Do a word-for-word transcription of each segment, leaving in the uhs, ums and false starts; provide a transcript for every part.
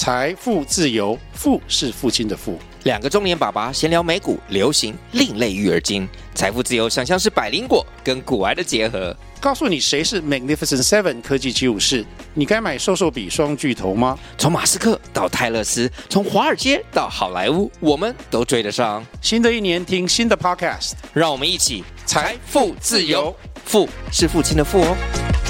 財富自由，富是父親的富。 兩個中年爸爸閒聊美股、流行、另類育兒經。財富自由想像是百靈果跟股癌的結合。 告訴你誰是 Magnificent Seven 科技七武士，你該買瘦瘦筆雙巨頭嗎？ 從馬斯克到泰勒斯，從華爾街到好萊塢，我們都追得上。 新的一年聽新的 Podcast， 讓我們一起財富自由。富是父親的富哦。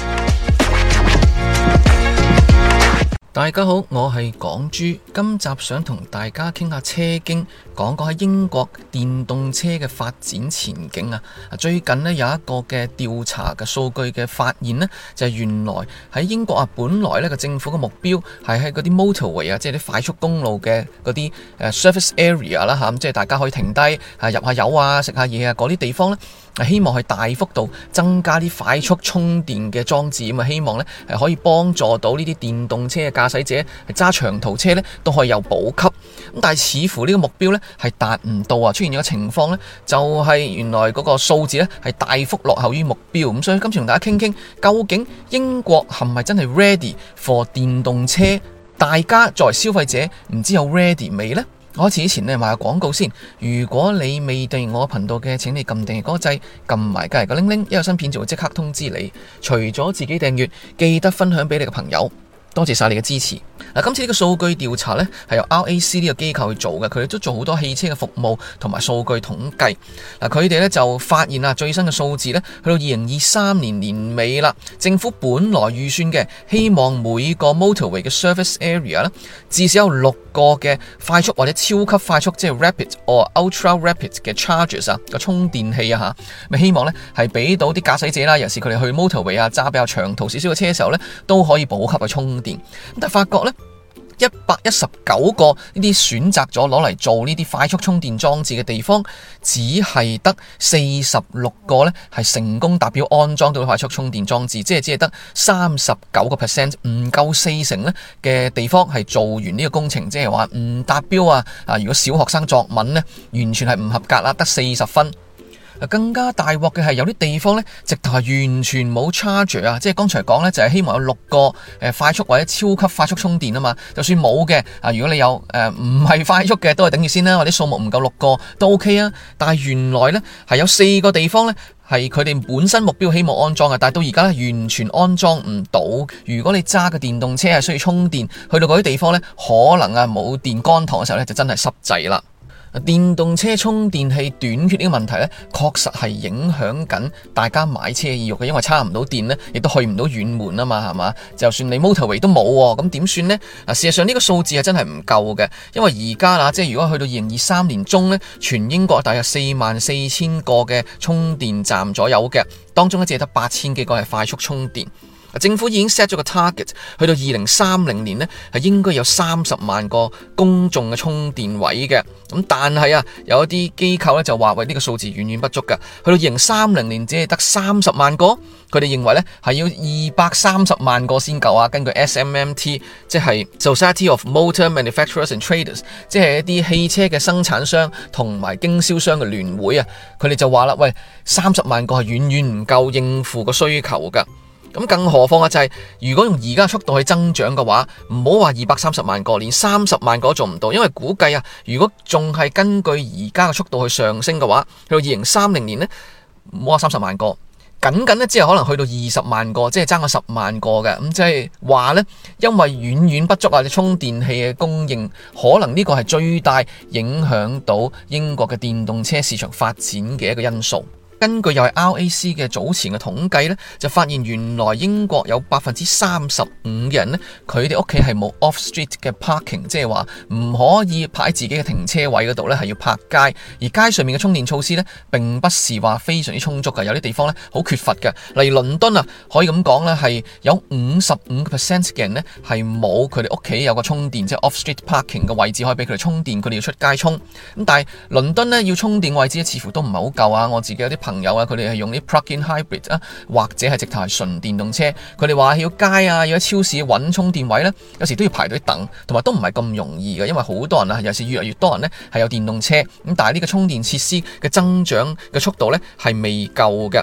大家好，我係港豬，今集想同大家傾下車經，講講喺英國電動車嘅發展前景啊！最近呢，有一個嘅調查嘅數據嘅發現呢，就係原來喺英國啊，本來呢個政府嘅目標係喺嗰啲 motorway 啊，即係啲快速公路嘅嗰啲誒 surface area 啦嚇，即係大家可以停低啊入下油啊食下嘢啊嗰啲地方呢，希望係大幅度增加啲快速充電嘅裝置，咁啊希望呢係可以幫助到呢啲電動車嘅駕駛者係揸長途車呢都可以有補給。咁但係似乎呢個目標呢係達唔到啊，出現咗個情況呢，就係原來嗰個數字呢係大幅落後於目標。咁所以今次同大家傾傾，究竟英國係咪真係 ready for 電動車？大家作為消費者唔知有 ready 未呢？開始之前呢，賣個廣告先。如果你未訂閱我頻道嘅，請你撳訂閱嗰個掣，撳埋隔籬個鈴鈴，一有新片就會即刻通知你。除咗自己訂閱，記得分享俾你嘅朋友。多謝晒你嘅支持。嗱，今次呢個數據調查呢係由 R A C 呢個機構去做嘅，佢哋都做好多汽車嘅服務同埋數據統計。嗱，佢哋呢就發現啊，最新嘅數字呢去到二零二三年年尾啦，政府本來預算嘅希望每個 motorway 嘅 surface area 呢至少有六個嘅快速或者超級快速，即係 rapid or ultra rapid 嘅 chargers 啊個充電器啊吓，咪希望呢係俾到啲駕駛者啦，尤其是佢哋去 motorway 啊揸比較長途少少嘅車嘅時候呢，都可以補給去充電。但係發覺呢，一百一十九個呢啲選擇咗攞嚟做呢啲快速充電裝置嘅地方，只係得四十六個呢係成功達標安裝到快速充電裝置，即係只係得三十九個 percent， 唔夠四成呢嘅地方係做完呢個工程，即係話唔達標啊！啊，如果小學生作文呢，完全係唔合格啦，得四十分。更加大鑊嘅係有啲地方呢，直頭係完全冇 charger 啊！即係剛才講呢，就係希望有六個誒快速或者超級快速充電啊嘛。就算冇嘅啊，如果你有誒唔係快速嘅，都係頂住先啦。或者數目唔夠六個都 OK 啊。但係原來呢，係有四個地方呢，係佢哋本身目標希望安裝嘅，但係到而家呢，完全安裝唔到。如果你揸嘅電動車係需要充電，去到嗰啲地方呢，可能啊冇電乾塘嘅時候呢，就真係濕滯啦。電動車充電器短缺呢個問題呢，確實係影響緊大家買車意欲嘅，因為插唔到電呢，亦都去唔到遠門啊嘛，係嘛？就算你 motorway 都冇，咁點算呢？啊，事實上呢個數字係真係唔夠嘅，因為而家啦，即係如果去到二零二三年中呢，全英國大約四萬四千個嘅充電站左右嘅，當中呢只係得八千幾個係快速充電。政府已經 set 咗個 target，去到二零三零年呢，係應該有三十萬個公眾嘅充電位嘅。咁但係啊，有一啲機構咧就話喂，呢個數字遠遠不足㗎。去到二零三零年只係得三十萬個，佢哋認為呢係要二百三十萬個先夠啊。根據 S M M T， 即係 Society of Motor Manufacturers and Traders， 即係一啲汽車嘅生產商同埋經銷商嘅聯會啊，佢哋就話啦，喂，三十萬個係遠遠唔夠應付個需求㗎。咁更何況啊，就係如果用而家速度去增長嘅話，唔好話二百三十萬個，連三十萬個都做唔到，因為估計啊，如果仲係根據而家嘅速度去上升嘅話，去到二零三零年呢，唔好話三十萬個，僅僅呢只係可能去到二十萬個，即係爭個十萬個嘅。咁即係話呢，因為遠遠不足啊，充電器嘅供應，可能呢個係最大影響到英國嘅電動車市場發展嘅一個因素。根據又係 R A C 嘅早前嘅統計呢，就發現原來英國有百分之三十五嘅人呢，佢哋屋企係冇 off street 嘅 parking， 即係話唔可以泊喺自己嘅停車位嗰度呢，係要泊街。而街上面嘅充電措施呢，並不是話非常之充足嘅，有啲地方呢好缺乏嘅。例如倫敦啊，可以咁講呢，係有五十五個 percent 嘅人呢，係冇佢哋屋企有個充電，即係 off street parking 嘅位置可以俾佢哋充電，佢哋要出街充。咁但係倫敦呢，要充電位置似乎都唔係好夠啊。我自己有啲朋友啊，佢哋係用啲 plug-in hybrid 啊，或者係直頭係純電動車。佢哋話要街啊，要喺超市揾充電位呢，有時都要排隊等，同埋都唔係咁容易嘅，因為好多人啊，有時越嚟越多人呢係有電動車，咁但係呢個充電設施嘅增長嘅速度呢係未夠嘅。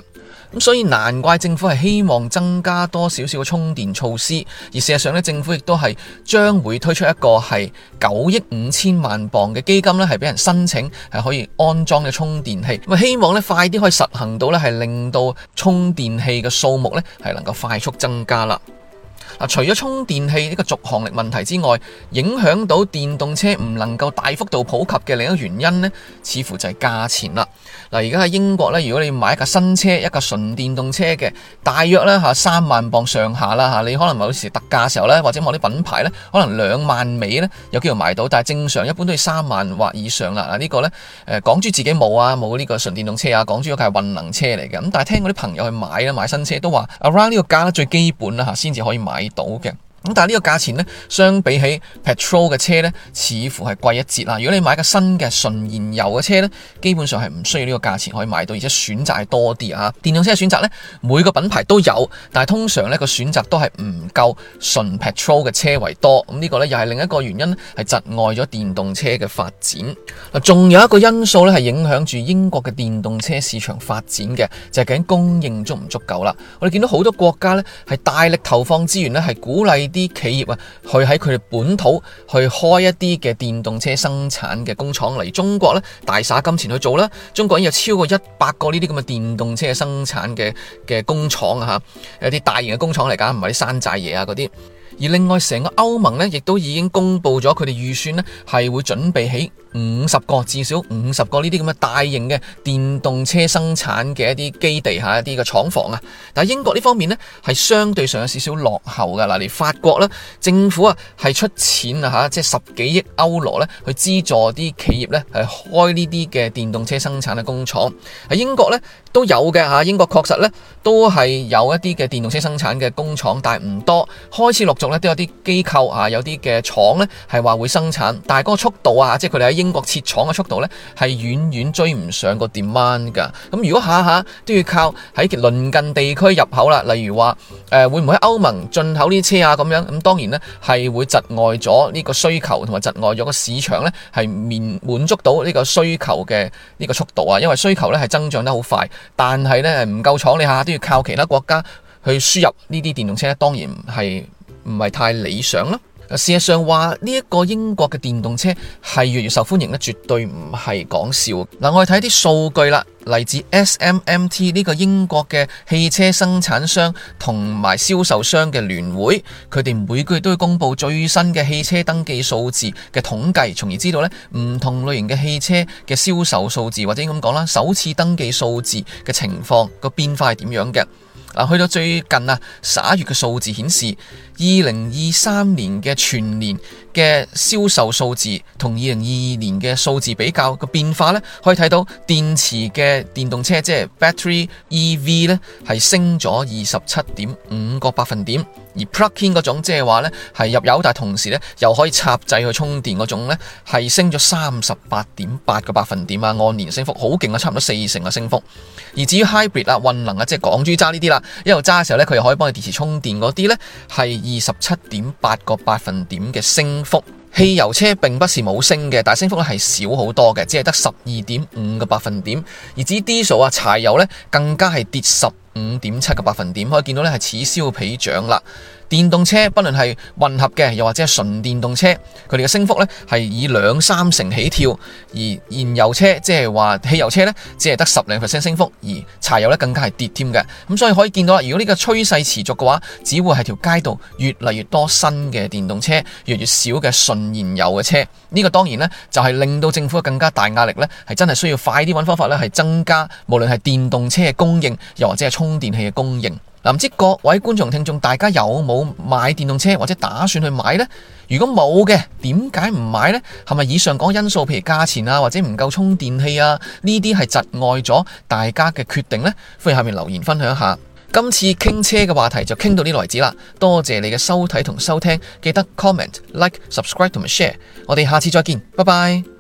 咁所以難怪政府係希望增加多少少嘅充電措施，而事實上咧，政府亦都係將會推出一個係九億五千萬鎊嘅基金咧，係俾人申請係可以安裝嘅充電器。咁希望咧快啲可以實行到咧，係令到充電器嘅數目咧係能夠快速增加啦。嗱，除咗充電器呢個續航力問題之外，影響到電動車唔能夠大幅度普及嘅另一個原因呢，似乎就係價錢啦。嗱，而家喺英國呢，如果你買一架新車，一架純電動車嘅，大約呢嚇三萬磅上下啦嚇，你可能某時特價嘅時候呢，或者某啲品牌呢，可能兩萬尾呢有機會買到，但係正常一般都要三萬或以上啦。嗱，呢個呢，誒港豬自己冇啊，冇呢個純電動車啊，港豬嗰架係混能車嚟嘅。咁但係聽嗰啲朋友去買啦，買新車都話 around 呢個價呢最基本啦嚇，先至可以買到嘅。咁但係呢個價錢呢，相比起 petrol 嘅車呢，似乎係貴一截啦。如果你買個新嘅純燃油嘅車呢，基本上係唔需要呢個價錢可以買到，而且選擇係多啲啊。電動車嘅選擇呢，每個品牌都有，但係通常呢個選擇都係唔夠純 petrol 嘅車為多。咁呢個呢，又係另一個原因，係窒礙咗電動車嘅發展。嗱，仲有一個因素呢，係影響住英國嘅電動車市場發展嘅，就係究竟供應足唔足夠啦。我哋見到好多國家呢，係大力投放資源呢，係鼓勵啲企業啊，去喺佢哋本土去開一啲嘅電動車生產嘅工廠。例如中國咧，大灑金錢去做啦。中國已經有超過一百個呢啲咁嘅電動車生產嘅嘅工廠啊，吓，有啲大型嘅工廠嚟㗎，唔係啲山寨嘢啊嗰啲。而另外成個歐盟呢，亦都已經公布咗佢哋預算呢，係會準備起五十個至少五十個呢啲咁嘅大型嘅電動車生產嘅一啲基地下一啲嘅廠房啊。但係英國呢方面呢，係相對上有少少落後噶。嗱，嚟法國呢，政府啊係出錢啊吓，即係十幾億歐羅呢去資助啲企業呢係開呢啲嘅電動車生產嘅工廠。喺英國呢都有嘅吓，英國確實呢都係有一啲嘅電動車生產嘅工廠，但係唔多，開始陸續都有啲機構啊，有啲嘅廠呢係話會生產，但係嗰個速度啊，即係佢哋喺英國設廠嘅速度呢，係遠遠追唔上個 demand 噶。咁如果下下都要靠喺鄰近地區入口啦，例如話誒、呃、會唔會喺歐盟進口呢啲車啊咁樣，咁當然呢係會窒礙咗呢個需求，同埋窒礙咗個市場呢係面滿足到呢個需求嘅呢個速度啊。因為需求呢係增長得好快，但係呢唔夠廠，你下下都要靠其他國家去輸入呢啲電動車呢，當然係唔係太理想啦。事實上話呢一個英國嘅電動車係越嚟越受歡迎咧，絕對唔係講笑。嗱，我哋睇啲數據啦，嚟自 S M M T 呢個英國嘅汽車生產商同埋銷售商嘅聯會，佢哋每個月都會公布最新嘅汽車登記數字嘅統計，從而知道咧唔同類型嘅汽車嘅銷售數字，或者咁講啦，首次登記數字嘅情況個變化係點樣嘅。嗱，去到最近啊十一月嘅數字顯示，二零二三年嘅全年嘅銷售數字同二零二二年嘅數字比較個變化呢，可以睇到電池嘅電動車即係 battery E V 呢係升咗二十七點五個百分點，而 plug-in 嗰種即係話呢係入油但同時呢又可以插掣去充電嗰種呢係升咗三十八點八個百分點啊，按年升幅好勁啊，差唔多四成嘅升幅。而至於 hybrid 啊混能啊，即係港豬揸呢啲啦，一路揸嘅時候呢，佢又可以幫你電池充電嗰啲呢係二十七點八個百分點嘅升幅。汽油車並不是冇升嘅，但係升幅咧係少好多嘅，只係得十二點五個百分點。而至於 diesel 啊柴油呢，更加係跌十五點七個百分點，可以見到呢係此消彼長啦。電動車不論係混合嘅，又或者係純電動車，佢哋嘅升幅呢係以兩三成起跳，而燃油車即係話汽油車呢，只係得十零 percent 升幅，而柴油呢更加係跌添嘅。咁所以可以見到啦，如果呢個趨勢持續嘅話，只會係條街道越嚟越多新嘅電動車，越嚟越少嘅純燃油嘅車。呢個當然呢，就係令到政府更加大壓力呢，係真係需要快啲揾方法呢，係增加無論係電動車嘅供應，又或者係充電器嘅供應。嗱，唔知各位觀眾聽眾大家有冇買電動車或者打算去買呢？如果冇嘅，點解唔買呢？係咪以上講因素，譬如價錢啊，或者唔夠充電器啊，呢啲係窒礙咗大家嘅決定呢？歡迎下面留言分享一下。今次傾車嘅話題就傾到呢度為止啦。多謝你嘅收睇同收聽，記得 comment、like、subscribe 同埋 share。我哋下次再見，拜拜。